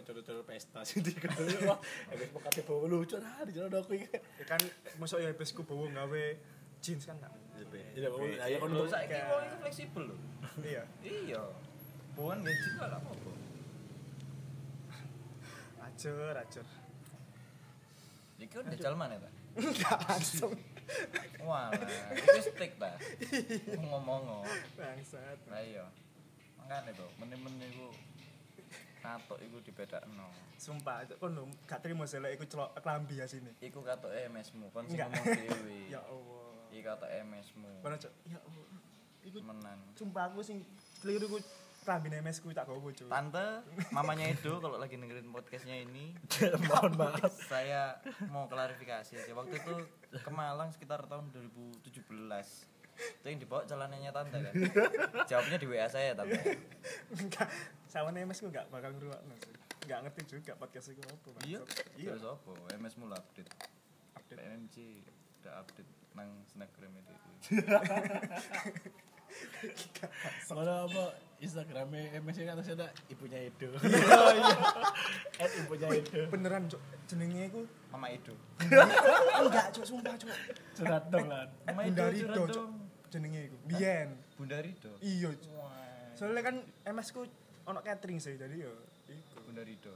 coro-coro pesta sih di kono. Wis pokoke bawa lucu nah di jono aku iki. Kan mosok ya besku bawa gawe jeans kan enggak. Iya, ayo kon Lho saiki wong iku fleksibel lho. Iya. Iya. Bukan gaji kok lah apa. Acur. Iki udah jajal mana ta? Enggak langsung. Walah, iki stick ta. Ngomong. Bangsat. Lah iya. Makane to, men-men iku katok iku dibedakno. Sumpah, itu kon gak trimo sih lek iku celok klambi asine. Iku katoke MS-mu, kon sing Enggak. ngomong dhewe. Ya Allah. Iki katoke MS-mu. Kono cok. Ya Allah. Iku Menan. sumpah aku sing keliru ku klambi MS ku tak gowo cok. Tante, mamanya Edo kalau lagi dengerin podcastnya ini, mohon maaf. saya mau klarifikasi aja. Waktu itu ke Malang sekitar tahun 2017. Itu yang dibawa celananya Tante kan? Jawabnya di WA saya Tante. Enggak. Sama MS ku enggak bakal ngrungokno sih. Enggak ngerti juga podcast iku apa. Iya, Iya. terus apa? MS mula update. Update. PNG udah update nang Snapgram itu. Soalnya apa Instagramnya MS kan terus ada ibunya Edo. Oh iya. Ibunya Edo. Beneran cok jenenge iku Mama Edo. enggak cok sumpah cok. Curhat dong lan. Mama Bunda Edo Rido curhat cok. dong. Jenenge iku. Biyen. Bunda Rido. Iya cok. Wah. Soalnya kan MS ku ono catering sih jadi yo iku. Bunda Rido.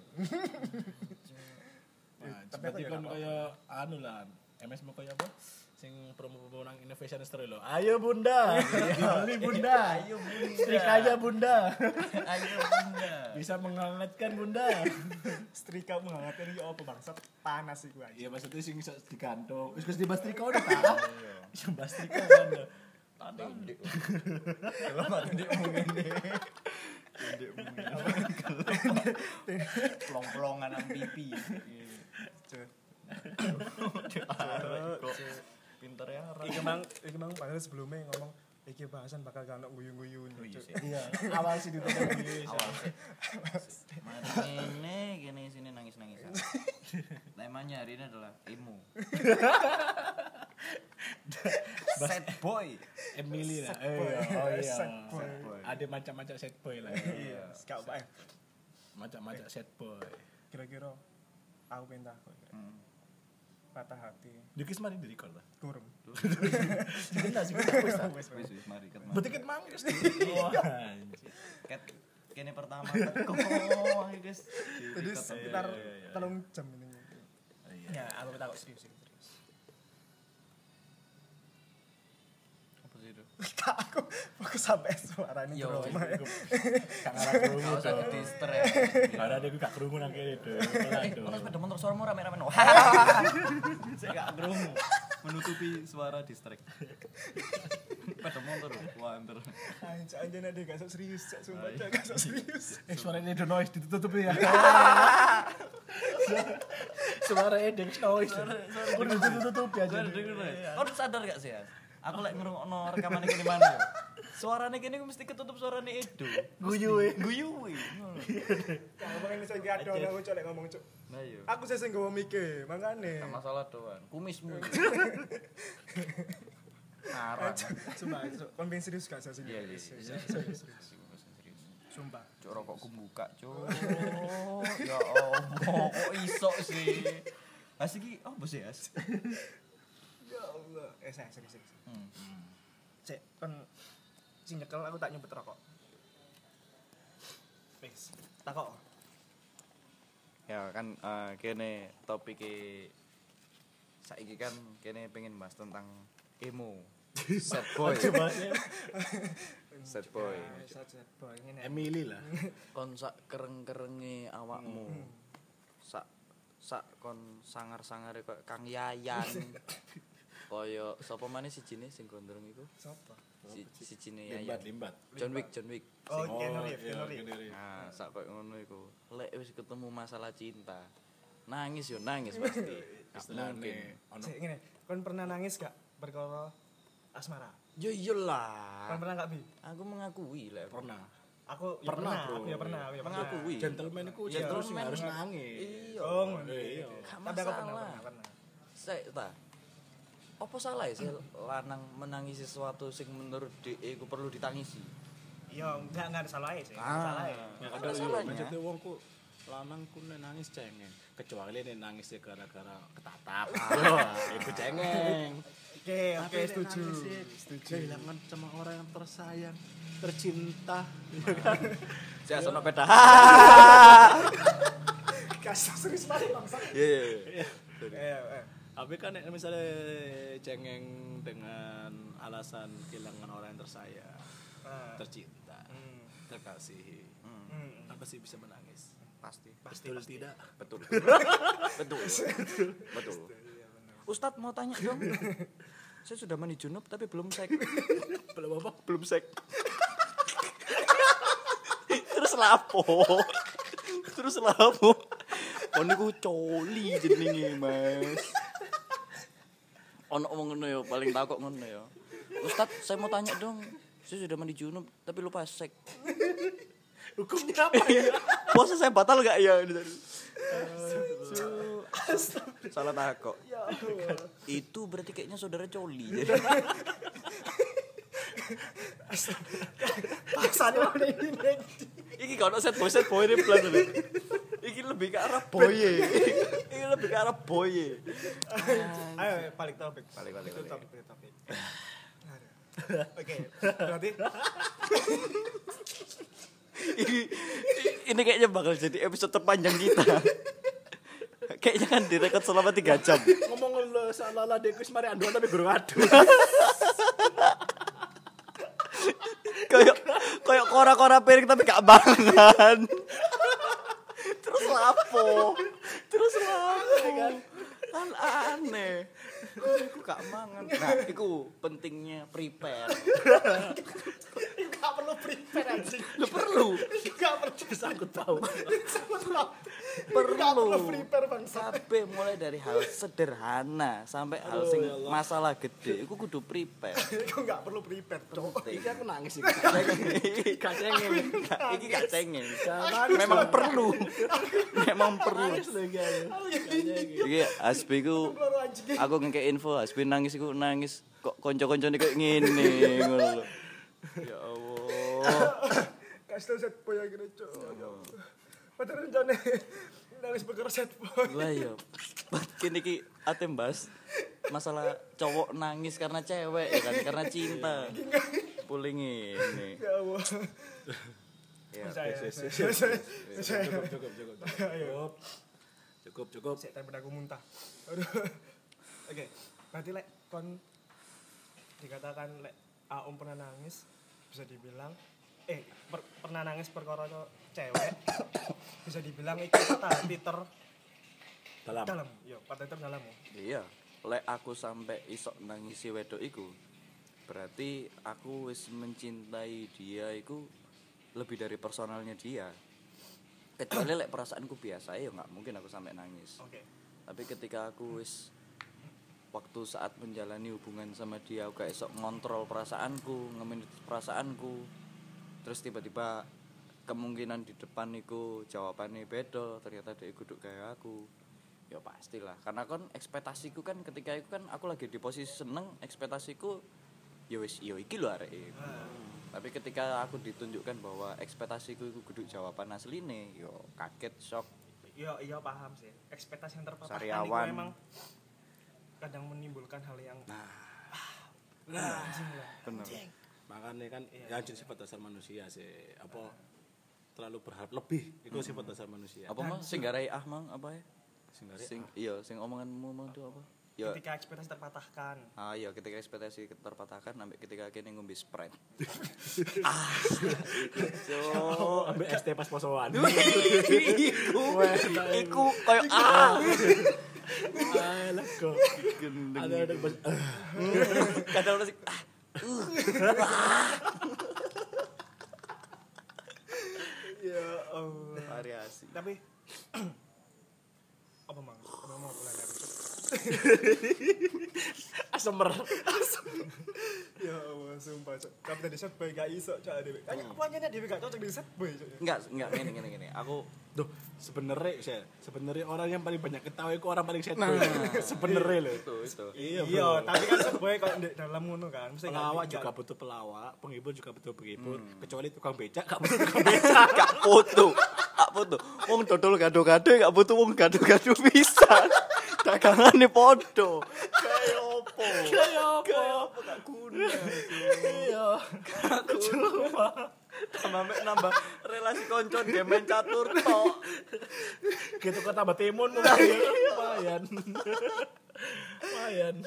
Tapi Tapi aku ya kan gak kaya anu lan. MS mau kaya apa? Sing promo-promo nang Innovation Store lho. Ayo Bunda. Beli Bunda. Ayo Bunda. Setrikanya Bunda. Ayo Bunda. Bisa menghangatkan Bunda. Setrika menghangatkan iki apa bangsat panas iku aja. Iya maksudnya sing iso digantung. Wis di Bastrika udah ta? Iya. Iso Bastrika kan. Tindik. Kalau mati ndik ngene. Tindik ngene. Plong-plongan nang pipi. Cok. Kok pinter ya orang. Iki mang padahal sebelumnya ngomong iki bahasan bakal kan guyu-guyu Oh iya sih. Iya, awal sih ditutup iki. Awal sih. Mari ngene kene sini nangis-nangisan. Temanya hari ini adalah emo. Sad boy. Emily lah. Sad boy. Oh iya. Sad boy. Ada macam-macam set boy lah. Iya, gak apa Macam-macam set boy. kira-kira aku pengen takut patah hati Dikis mari di record lah. kurang Sebentar sih wes Wis mari ket. berarti ket manggis. Wah, anjir. Ket kene pertama kok guys. jadi sekitar iya. 3 jam ini Iya. ya aku takut serius Apa sih itu? aku fokus sampai suara ini Yo, drama Gak ngarah krungu Kau usah tuh. dister ya. Karena dia gak krungu nang kene tuh. Kalau sepeda motor suaramu rame-rame no. Saya gak kerungu. Menutupi suara distract. Sepeda motor wanter. anjir ada gak sok serius cak sumpah cak gak sok serius Suaranya The Noise ditutup ya. Suara Edeng Noise. Udah ditutup ya Gue jadi. denger. Kau sadar gak sih ya? Aku lek ngrungokno rekaman iki di mana ya? Suarane kene mesti ketutup suarane Edo. Guyu e. Guyu. ngomong ini saya gak ada aku colek ngomong cuk Nah iya. aku sih nggawa mikir makane Gak masalah doan. Kumismu. Arang. sumpah kon pengen serius gak sih Iya. serius sumpah Cuk rokokku buka, cuk. Ya Allah, kok iso sih? Asik iki opo sih, As? ya Allah saya serius Hmm. cek kan sing nyekel aku tak nyumpet rokok wis takok Ya kan kene topike saiki kan kene pengen bahas tentang emo. Sad boy. Sad boy. sad boy ngene Emily lah. Kon sak kereng-kerenge awakmu. Sak kon sangar-sangare koyo Kang Yayan. Koyo sapa maneh sijine sing gondrong iku? sapa Sijine Yayan. Limbat. John Wick. oh Sing- Keanu Reeves Nah, sak koyo ngono iku. Lek wis ketemu masalah cinta, nangis yo nangis pasti. Gak mungkin. Ono cek ngene kon pernah nangis gak perkara asmara Yo iyalah. kon pernah gak bi Aku mengakui lah. pernah. aku ya Pernah, bro. aku ya pernah Mengakui. Gentleman iku Iya, terus gentleman. harus nangis. Iya. oh ngono Iya. Gak tapi aku masalah. pernah Sik ta. Apa salah ya sih lanang menangisi sesuatu sing menurut DE ku perlu ditangisi? iya enggak ada salah sih Ah. salah ya Ada salahnya. Maksudnya wong ku lanang ku nek nangis cengeng, kecuali nek nangis gara-gara ketatap. Yo, iku cengeng. Oke, setuju. Kehilangan sama orang yang tersayang, tercinta, ya kan? Saya sono peda. Kasar serius banget bangsa. Iya. Tapi kan nek misalnya cengeng dengan alasan kehilangan orang yang tersayang, tercinta, terkasihi, apa sih bisa menangis? Pasti. Betul tidak? Betul. Ustadz mau tanya dong. Saya sudah mandi junub tapi belum sek. Belum apa? Belum sek. Terus lapo? Oh niku coli jenenge, Mas. Ono ngomong ngono ya, paling takut ngono ya. Ustadz, saya mau tanya dong. Saya sudah mandi junub tapi lupa sek. Hukumnya apa ya? Puasa saya batal gak ya? Salah takut. Itu berarti kayaknya saudara coli. Paksane mana ini. Iki kalau set boy ini plan dulu. Iki lebih ke arah boye. Ayo balik topik. Balik. Topik. Oke, berarti ini kayaknya bakal jadi episode terpanjang kita. Kayaknya kan direkod selama 3 jam. Ngomong lo salah dekus mari anduan tapi guru adu. Kayak kora-kora piring tapi gak mangan. Terus lapo kan aneh. Iku gak mangan. Nah, iku pentingnya prepare. enggak perlu prepare anjing. Lu perlu. Enggak perlu Sangkut tahu. Enggak perlu prepare bangsa. Sampai mulai dari hal sederhana sampai hal sing masalah gede iku kudu prepare. Iku enggak perlu prepare, Cok. Iki aku nangis iki. Iki gak cengeng. Memang perlu. Nangis lagi ayo. Iki Asbi ku aku ngekek info Asbi nangis iku nangis kok kanca-kancane kayak ngene ngono lho. Ya Allah. Kasih set boy akhirnya, Cok. Padahal rencana nangis perkara set boy. Lah ya. Kini iki ate mbas masalah cowok nangis karena cewek ya kan, karena cinta. Puling ini. Ya Allah. Ya, Cukup. Saya tempat aku muntah. Aduh. Oke, berarti lek kon dikatakan lek Aum pernah nangis bisa dibilang pernah nangis perkara cewek bisa dibilang itu patah hati dalam. Yo, patah hati dalam. Iya, lek aku sampai isok nangisi wedok iku berarti aku wis mencintai dia iku lebih dari personalnya dia. Kecuali lek perasaanku biasa ya nggak mungkin aku sampai nangis. Oke. Tapi ketika aku wis waktu saat menjalani hubungan sama dia aku gak esok ngontrol perasaanku, ngemanage perasaanku. Terus tiba-tiba kemungkinan di depan iku jawabannya beda, ternyata dia duduk kayak aku. Ya pastilah, karena kan ekspektasiku kan ketika itu kan aku lagi di posisi seneng, ekspektasiku ya wis yo iki lho areke. Tapi ketika aku ditunjukkan bahwa ekspektasiku itu kudu jawaban asline, yo kaget, shock. Iya paham sih. Ekspektasi yang terpatahkan itu Sariawan. memang kadang menimbulkan hal yang anjing lah. Bener. Makanya kan ya jadi sifat dasar manusia sih. Apa terlalu berharap lebih itu sifat dasar manusia. Apa mah sing garai mang apa ya? Sing Sing omonganmu mau itu apa? Ya. Ketika ekspektasi terpatahkan. Iya ketika ekspektasi terpatahkan sampai ketika kene ngombe Sprite. ambil ST pas posoan. Iku koyo Alah kok. Ada pas kadang orang sih Ya Allah. variasi. Tapi apa mang? Apa mau pulang dari itu? asemer. Ya Allah, sumpah Cok. Tapi tadi set boy gak iso Cok dhewe. Kayak apa aja dhewe gak cocok di set boy Cok. Enggak gini. Aku Duh, sebenarnya orang yang paling banyak ketawa itu orang paling seto. Sebenarnya lho. itu. Iya, tapi kan set boy kalau di dalam ngono kan. Mesti Pelawak juga butuh pelawak, penghibur juga butuh penghibur. Kecuali tukang becak, gak butuh tukang becak. Gak foto. foto. Wong dodol gado-gado gak butuh wong gado-gado pisan. Dagangane podo. Kayak opo? Gak guna. Iya. Nambah relasi konco dia main catur tok. Gitu kan tambah timun mungkin. Lumayan. Lumayan.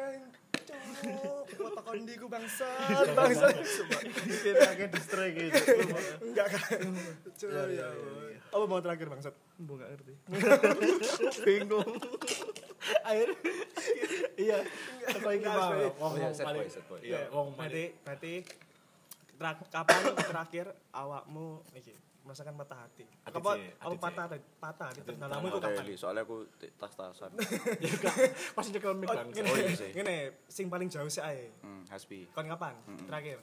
Foto kondiku bangsat. Kita kayak distrek gitu. Enggak kan. Coba ya. Apa mau terakhir bangsat? Mbok gak ngerti. Bingung. Akhir. Iya. Apa iki Enggak, Bang? Mas. Oh, iya, set boy. Iya, ngomong paling. Berarti kapan terakhir awakmu iki merasakan patah hati? Apa patah hati terdalammu itu kapan? Soalnya aku tas-tasan. Ya gak pasti cekel mic Bang. Oh iya sih. Ngene, sing paling jauh sih ae. Hasbi. Kon kapan? Terakhir.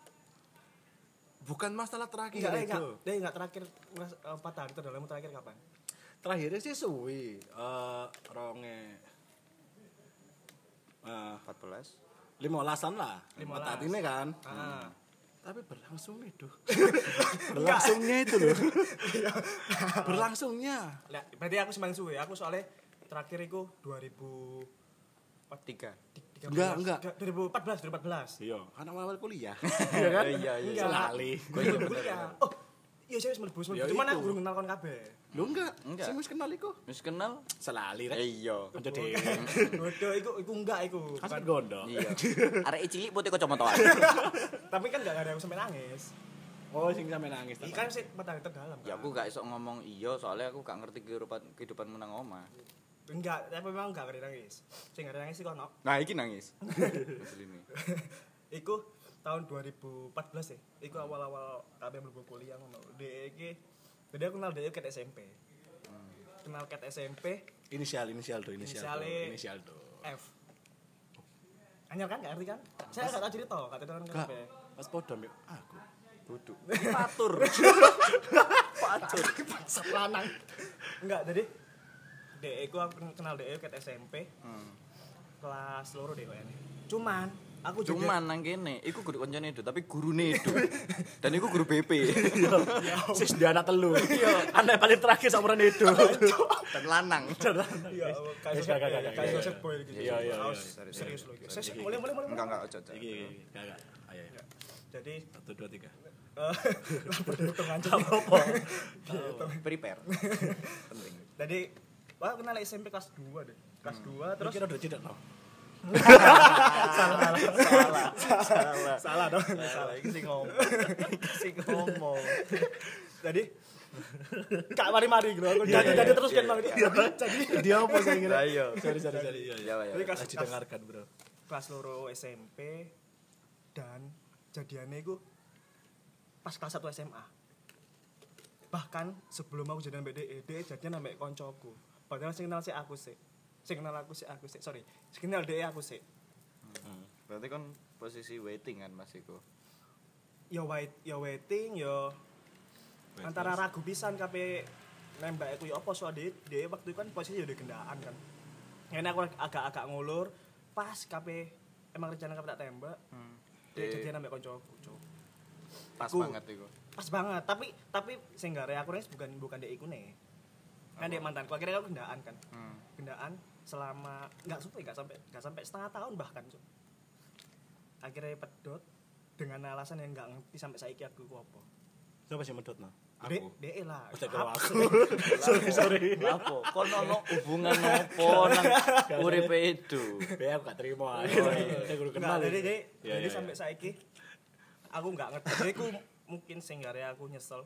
Bukan masalah terakhir Enggak terakhir patah hati terdalammu terakhir kapan? Terakhirnya sih suwi. Ronge 14. 15-an lah. 15. Patah hati ini kan. Heeh. Tapi berlangsung itu. Berlangsungnya itu loh. Berlangsungnya. Lah, berarti aku semakin suwe. Aku soalnya terakhir iku 3. Enggak. 2014. Iya, kan awal kuliah. Iya kan? Iya. Lali. Gue iya bener. Oh, iya saya wis mlebu. Ya Cuman itu. aku durung kenal kon kabeh. Lu enggak? Enggak. Sing wis kenal iku. Wis kenal? Selali rek. Iya. Kanca dhewe. Bodoh iku enggak iku. Kan Bukan. gondo. Iya. Arek cilik putih kacamataan. Tapi kan enggak ada yang sampai nangis. Oh, sing sampe nangis. Iki kan sih patah hati terdalam. Ya aku gak iso ngomong iya soalnya aku gak ngerti kehidupanmu nang omah. Enggak, tapi memang enggak ada nangis. Sing ada nangis sih kono. Nah, iki nangis. Asline. Iku tahun 2014 ya. Iku awal-awal kabeh mlebu kuliah ngono. Dek iki jadi aku kenal dia ket SMP. Kenal ket SMP Inisial tuh. Inisiale- F. Anyar kan enggak ngerti kan? Saya enggak tahu cerita, enggak tahu kan Enggak. kabeh. Pas podo mbek aku. Duduk. Patur. Bangsat lanang. Enggak, jadi dek iku aku kenal dek ket SMP. Kelas loro deh kayaknya. Cuman aku juga Cuman nang kene iku guru koncone itu tapi gurune itu. Dan iku guru BP. Sis dia anak telu. Anak paling terakhir samuran itu. Dan lanang. ya Gak. kayak set boy gitu. Iya. Harus serius loh. Saya mulai. Enggak ojo. Iki. Gak. Ayo. Jadi 1 2 3. berhitung aja. Prepare. Penting. Jadi wah kenal SMP kelas 2 deh. Kelas 2 terus Kira udah tidak no. salah dong. Salah iki sing ngomong. Jadi Kak mari-mari gitu. Aku jadi terus kan Bang. Jadi Dia apa saya kira? Ayo. Sorry. Iya. Ya. Jadi kelas Didengarkan, Bro. kelas loro SMP dan jadiannya itu pas kelas 1 SMA. Bahkan sebelum aku jadian BDE, dia jadian sampai koncoku. Padahal sing kenal aku sih. Sorry. Sing kenal DE aku sih. Berarti kan posisi waiting kan Mas iku. Ya waiting ya antara ragu pisan kabeh nembak aku ya apa soal DE waktu itu kan posisi udah gendaan kan. Ini aku agak ngulur pas kabeh emang rencana kabeh tak tembak. Dia jadian sampai koncoku, Cuk. Pas Iku. banget iku. Pas banget, tapi sing gare aku nih bukan dek iku nih. Kan dek mantanku akhirnya aku gendaan kan. Gendaan selama enggak sampai setengah tahun bahkan, Cuk. Akhirnya pedot dengan alasan yang enggak ngerti sampai saiki aku ku apa. Siapa sih medot no? Dek lah. Udah kalau aku. Sorry. Apa? Kon ono hubungan opo nang uripe itu? Be aku gak terima. Enggak, Saya guru kenal. jadi sampai saiki aku enggak ngerti. Jadi aku mungkin sing gare aku nyesel.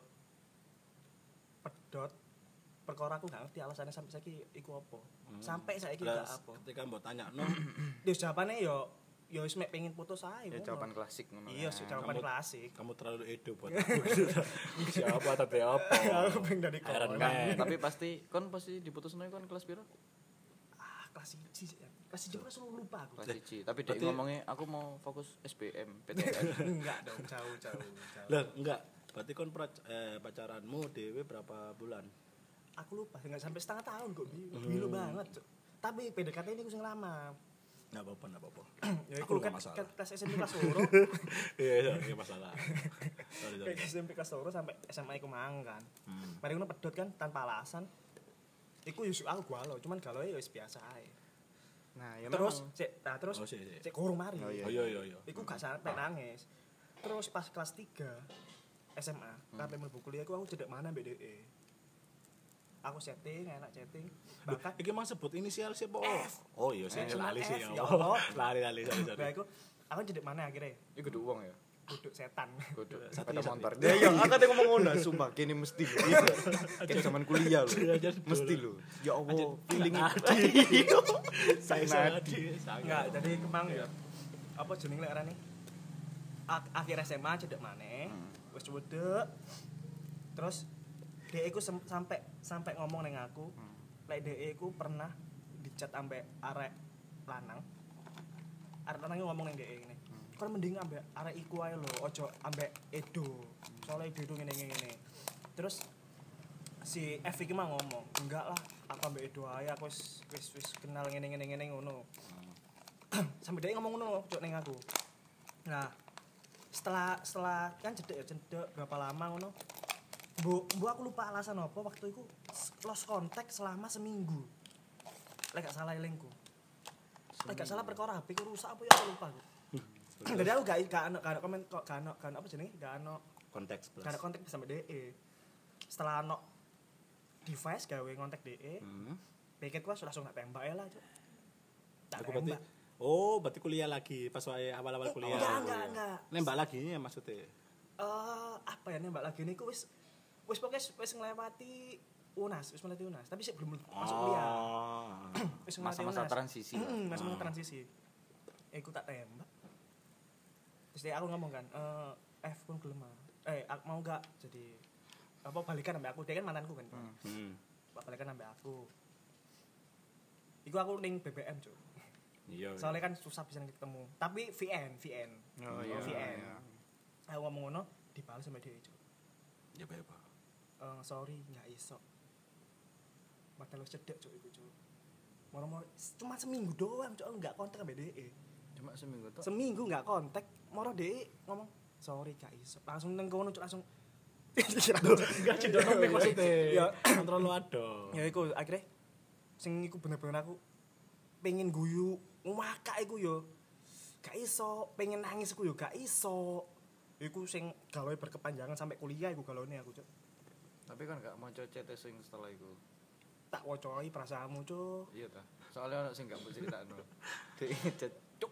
Pedot perkara aku enggak ngerti alasannya sampai saiki iku apa. Sampai saiki enggak apa. Ketika mbok tanya no, Terus jawabannya yo wis mek pengin putus ae. Ya ngono. jawaban klasik ngono. Iya, jawaban klasik. kamu terlalu edo buat aku. Siapa tapi apa? Aku pengen dari Iron koran. Man. Tapi pasti diputusno kon kelas piro? Kelas 1 sih. Kelas 1 kelas lupa aku. Kelas 1. Tapi dek berarti- ngomongnya aku mau fokus SBM, PTN. Enggak dong, jauh. Lah, enggak. Berarti kon pacaranmu dhewe berapa bulan? Aku lupa, enggak sampai setengah tahun kok, Bilu banget, Cuk. Tapi PDKT ini aku sing lama. Enggak apa-apa. Ya Aku iku nggak kan masalah. kelas SMP kelas loro. Iya, masalah. Sorry. Kayak SMP kelas 2 sampai SMA iku mang kan. Mari ngono pedot kan tanpa alasan. Iku yo aku galau, cuman galau ya wis biasa ae. Nah, ya Terus memang. terus Oh, sik. cek kurung mari. Oh, iya. Oh iya. Iku gak sampai nangis. Terus pas kelas 3 SMA, sampai mlebu kuliah aku cedek mana mbek DE. Aku chatting, enak chatting. Bahkan Iki mang sebut inisial siapa? F. Oh iya, saya F, lali sih F, ya. ya Allah. Lali sorry. Nah, aku cedek mana akhirnya? Iku kudu uang ya. Duduk setan. Kudu Satu sepeda ya, motor. Ya iya, aku tadi ngomong ngono, sumpah kene mesti lho. Kayak zaman kuliah lho. Mesti lho. Ya Allah, feeling Saya Enggak, jadi kemang ya. Apa jeneng lek arane? Akhir SMA cedek maneh. Wis cedek. Terus DE ku sampai ngomong ning aku, lek DE ku pernah dicat ambek arek lanang. Arek lanang ngomong ning DE ngene. Kon mending ambek arek iku ae lho, ojo ambek Edo. Soale Edo ngene. Terus si F iki mah ngomong, "Enggak lah, aku ambek Edo ae, aku wis kenal ngene ngono." Sampai dia ngomong ngono cok ning aku. Nah, setelah kan cedek berapa lama ngono. Bu aku lupa alasan apa waktu itu lost contact selama seminggu. Lek gak salah elingku. Lek gak salah perkara HP ku rusak apa ya aku lupa. Jadi aku gak ono komen kok gak ono apa jenenge? Gak ono konteks plus. gak ada kontak sampai DE. Setelah ono device gawe ngontak DE, pikir gua langsung tak tembak ya lah, Cuk. Tak Aku berarti berarti kuliah lagi pas wae awal-awal kuliah. Enggak. Nembak lagi ya maksudnya. Apa ya nembak lagi niku wis pokoknya wis nglewati UNAS, tapi sih belum masuk kuliah. Wis nglewati Masa-masa UNAS. transisi lah. Masa-masa transisi. Iku tak tembak. Terus dia aku ngomong kan, F pun gelem. Mau enggak jadi apa balikan sampai aku, dia kan mantanku kan. Balikan sampai aku. Iku aku ning BBM, Cuk. Iya. Soalnya kan susah bisa ketemu. Tapi VN. Oh iya. VN. Iya. Aku ngomong ngono dibalas sama dia, Cuk. Ya apa? Sorry, nggak iso. Padahal wis cedek, Cuk, iku, Cuk. Moro-moro cuma seminggu doang, Cuk, enggak kontak sama DE. Cuma seminggu tok. Seminggu enggak kontak, moro DE ngomong, "Sorry, gak iso." Langsung nang kono, Cuk, langsung Enggak cedok nomik maksudnya. Ya. Kontrol lu ado. Ya iku akhirnya sing iku bener-bener aku pengen guyu ngakak iku yo. Gak iso, pengen nangis iku yo gak iso. Iku sing gawe berkepanjangan sampai kuliah iku galone aku, Cuk. Tapi kan gak mau chat sing setelah itu. Tak wocoi perasaanmu, Cuk. Iya ta. Soalnya ono sing gak mau critakno. Dek chat cuk.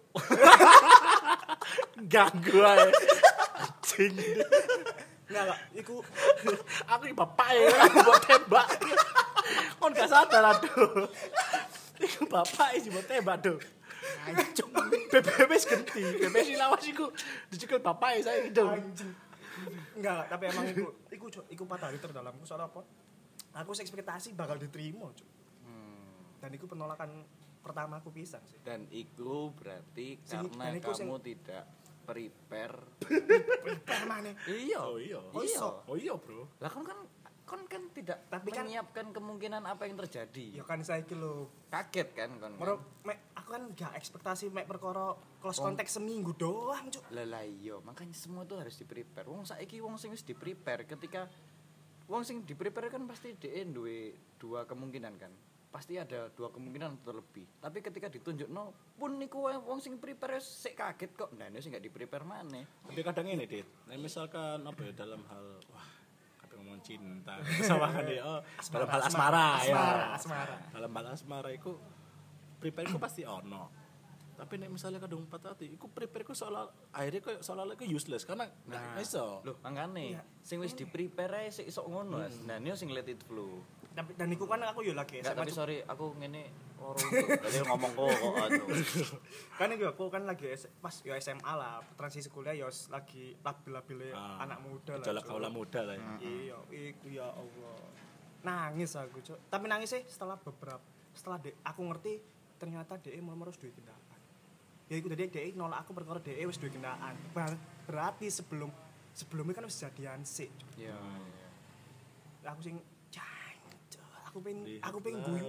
Ganggu ae. Anjing. Enggak, iku Aku iki bapak ya, aku buat tembak. Kon gak sadar aduh. Iku bapak sih buat tembak aduh. Anjing. BBM wis genti. BBM sing lawas iku dicekel bapak saya gitu. anjing. Enggak, tapi emang iku Cuk, iku patah hari terdalamku soal apa? Aku ekspektasi bakal diterima, Cuk. Dan iku penolakan pertama aku pisan sih. Dan itu berarti Sing- karena dan iku kamu tidak prepare. Prepare maneh. Iya. Oh iya. Iya. Oh iya, Bro. Lah kan tidak Tapi kan- menyiapkan kemungkinan apa yang terjadi. Ya kan saiki lho. Kaget kan kon. Moro aku kan gak ekspektasi mek perkara close contact seminggu doang, Cuk. Lah iya, makanya semua itu harus di-prepare. Wong saiki wong sing wis di-prepare ketika wong sing di-prepare kan pasti dhek duwe dua kemungkinan kan. Pasti ada dua kemungkinan terlebih. Tapi ketika ditunjukno pun niku wong sing prepare sik kaget kok. Nah, ini sing gak di-prepare maneh. Tapi kadang ini, Dit. Nah, misalkan apa ya dalam hal apa ngomong cinta sama kan dia. Oh, dalam hal asmara ya. Asmara. Dalam hal asmara iku prepare ku pasti ono. Tapi nek misalnya kadung patah hati, iku prepare ku akhirnya kok seolah-olah iku useless karena enggak iso. Loh, mangane Iya. sing wis di-prepare ae sik iso ngono. Nah, ini sing let it flow. Dan iku kan aku yo lagi Enggak, SMA, tapi Cuk. sorry, aku ngene loro untuk. Tadi ngomong kok anu. Kan iku aku kan lagi pas yo SMA lah, transisi kuliah yo lagi labil-labile anak muda lah. Gejala Cuk. kaula muda lah ya. Iya, iku ya Allah. Nangis aku, Cuk. Tapi nangis sih setelah aku ngerti ternyata DE mau harus duwe kendaraan. Ya iku tadi DE nolak aku perkara DE wis duwe kendaraan. Berarti sebelumnya kan wis jadian sik. Cuk. Iya. Aku sing jancuk. Aku pengen guyu.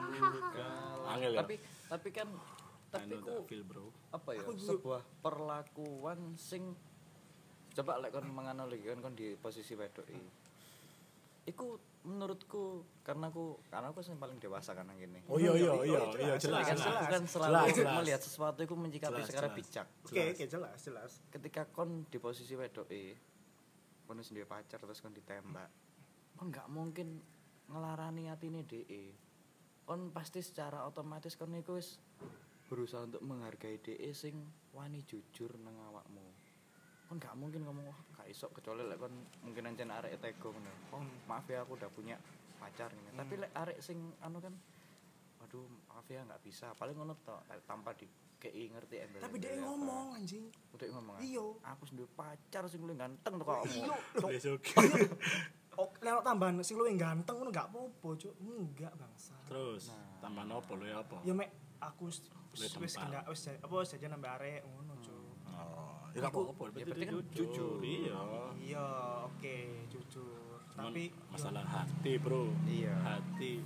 Angel ya. Tapi kan Anu ku tak feel, Bro. apa ya Aku juga- sebuah perlakuan sing coba lek kon menganalogikan kon di posisi wedok iku menurutku karena aku sing paling dewasa kan nang kene. Oh iya jelas. Aku kan selalu melihat sesuatu iku menyikapi secara bijak. Oke, jelas. Ketika kon di posisi wedok kon wis duwe pacar terus kon ditembak. Kon gak mungkin ngelarani atine dhek. Kon pasti secara otomatis kon iku wis berusaha untuk menghargai dhek sing wani jujur nang awakmu. Kon gak mungkin ngomong gak iso kecuali lek kon mungkin ancen arek tego ngono. Oh, maaf ya aku udah punya pacar ngene. Tapi lek arek sing anu kan waduh maaf ya gak bisa. Paling ngono tok tanpa dikei ngerti embel. Tapi dia ngomong anjing. Udah ngomong. Iya. Aku duwe pacar sing luwih ganteng tok kamu. Wis oke. Oh, lewat tambahan sing luwih ganteng ngono gak apa-apa, Cuk. Enggak, bangsa. Terus tambahan opo lho ya apa? Ya mek aku wis enggak wis jajan nambah arek ngono, Cuk. Ya gak apa-apa, berarti kan jujur. Iya. Iya, oke, jujur. Tapi masalah hati, Bro. Iya. Hati.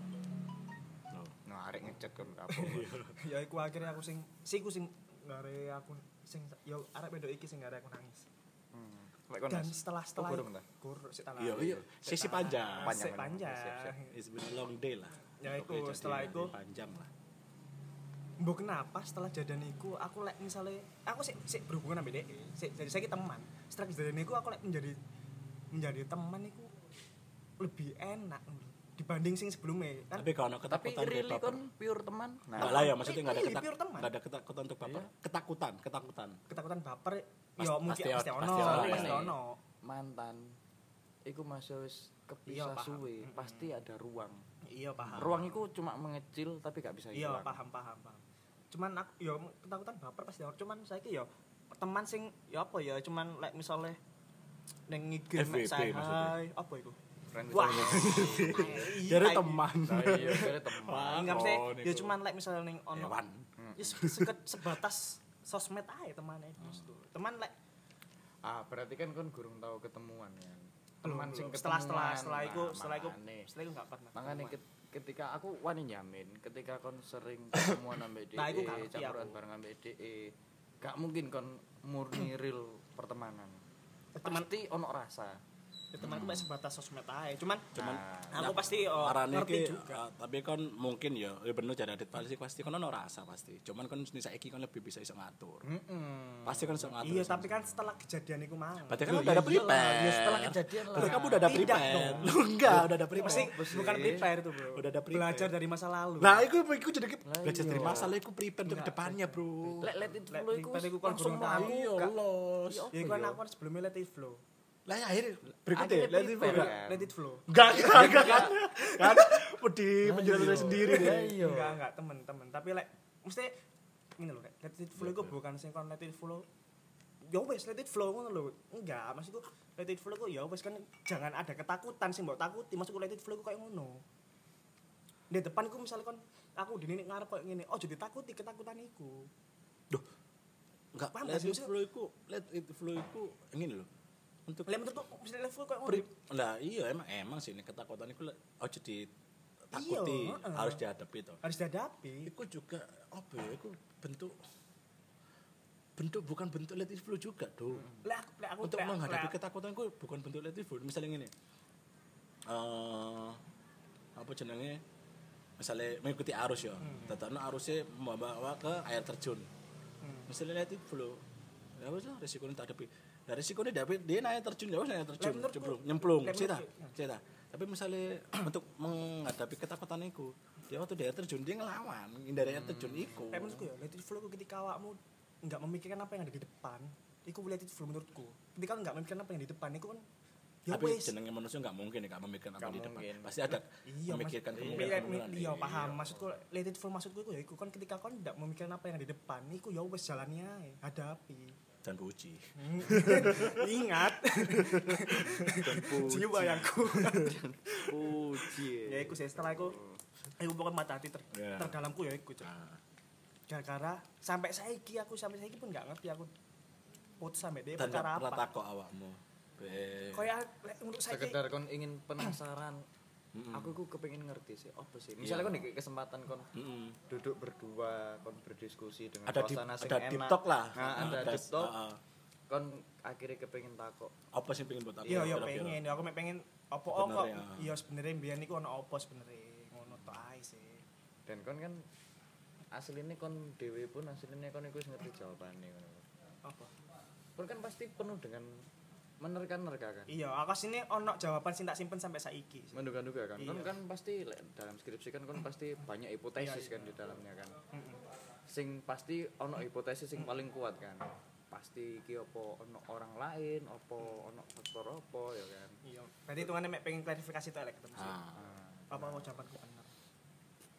Nah, arek ngechat kan apa. Ya iku akhirnya aku sing ngare aku sing ya arek wedok iki sing ngare aku nangis. Dan setelah kurang Iya, sisi panjang. Panjang. It's been a long day lah. Ya iku setelah iku panjang lah. Mbok kenapa setelah jadian iku aku lek misale aku sik berhubungan ambek dhek. Jadi saya teman. Setelah jadian iku aku lek menjadi teman iku lebih enak dibanding sing sebelumnya kan. Tapi kalau ketakutan tapi really kon pure teman. Enggak lah ya maksudnya enggak ada ketakutan untuk baper. Ketakutan baper ya mungkin pasti ono. Mantan iku masih wis kepisah suwe, pasti ada ruang. Iya paham. Ruang iku cuma mengecil tapi gak bisa hilang. Iya paham. Cuman aku ya ketakutan baper pasti ono. Cuman saiki ya teman sing ya apa ya cuman lek misale ning IG mek saya apa iku? Wah. Jadi teman. Iya, jadi teman. Enggak mesti ya cuman lek misale ning ono. Ya sebatas sosmed ae temane itu. Teman lek berarti kan kon gurung tahu ketemuan ya. Teman sing setelah iku enggak pernah. Makanya ketika aku wani nyamin ketika kon sering ketemuan ambek dhek campuran bareng ambek dhek gak mungkin kon murni real pertemanan. Pasti ono rasa. Temanku mek sebatas sosmed ae. Cuman aku pasti ngerti juga. Tapi kan mungkin ya bener jadi adit pasti kan ono rasa pasti. Cuman kan saiki kan lebih bisa iso ngatur. Pasti kan iso ngatur. Iya, tapi kan setelah kejadian iku mang. Berarti kan udah ada prepare. Ya setelah kejadian lah. Berarti kamu udah ada prepare. Lu enggak, udah ada prepare. Bukan prepare itu, Bro. Udah ada prepare. Belajar dari masa lalu. Nah, iku jadi belajar dari masa lalu iku prepare untuk kedepannya, Bro. Let it flow iku langsung aku los. Ya kan aku sebelumnya let it flow. Lah ya akhirnya berikutnya let it flow. Enggak kan udah penjelasan sendiri deh. Enggak temen-temen tapi lek mesti ngene lho let it flow iku bukan sing kon let it flow ya wis let it flow ngono lho. Enggak, maksudku let it flow iku ya wis kan jangan ada ketakutan sing mbok takuti. Maksudku let it flow iku koyo ngono. Di depan iku misalnya kon aku dene ngarep koyo ngene, ojo ditakuti ketakutan iku. Duh. Enggak, let it flow iku ngene lho. Untuk menurut mesti level kok ngono. Lah iya emang sih ini ketakutan iku ojo ditakuti, harus dihadapi to. Harus dihadapi. Iku juga apa ya? Iku bentuk bukan bentuk let it flow juga, Do. Aku untuk menghadapi ketakutan iku bukan bentuk let it flow. Misalnya ngene. Apa jenenge? Misalnya mengikuti arus ya. Tetapno arusnya membawa ke air terjun. Misalnya let it flow. Ya wis resikonya tak hadapi. Dari resikonya dapat dia naik terjun nyemplung cerita. Tapi misalnya untuk menghadapi ketakutan itu dia waktu dia terjun dia ngelawan dari air terjun itu. Menurutku ya let it flow ketika awakmu enggak memikirkan apa yang ada di depan itu let it flow menurutku. Ketika enggak memikirkan apa yang di depan itu kan ya tapi wes. jenenge manusia enggak mungkin enggak memikirkan apa di depan. Pasti ada memikirkan kemungkinan. Iya paham maksudku let it flow maksudku itu ya iku kan ketika kon enggak memikirkan apa yang ada di depan iku ya wes jalani ae hadapi. Dan puji. Ingat. Dan puji. Jiwa bayangku. Puji. Ya iku setelah iku pokoknya mata hati terdalamku ya iku. Gara-gara sampai saiki pun enggak ngerti aku putus sampai dia perkara apa. Dan takok awakmu. Kayak untuk saiki sekedar kon ingin penasaran. Aku kepengin ngerti sih apa sih. Misalnya kon dikasih kesempatan kon duduk berdua, kon berdiskusi dengan suasana sing enak. Ada deep talk lah. Nah, ada deep talk. kon akhirnya kepengen takok. Apa sih pengen buat aku? Iya, Kira-kira. pengen. Aku mek pengen apa kok. Sebenarnya. Iya sebenarnya mbiyen iku ono apa sebenarnya. Ngono tok ae sih. Dan kon kan aslinya kon dhewe pun aslinya kon iku wis ngerti jawabane ngono. Apa? Kon kan pasti penuh dengan menerka-nerka kan. Iya, aku sini ono jawaban sing tak simpen sampai saiki. sih. Menduga-duga kan. Kon Iya. kan pasti dalam skripsi kan kon pasti banyak hipotesis Iya, kan di dalamnya kan. Heeh. Sing pasti ono hipotesis sing paling kuat kan. Pasti iki apa ono orang lain, apa ono faktor apa ya kan. Iya. Berarti hitungane mek pengen klarifikasi tok lek ketemu. sih. Ah. Apa mau jawabanku bener.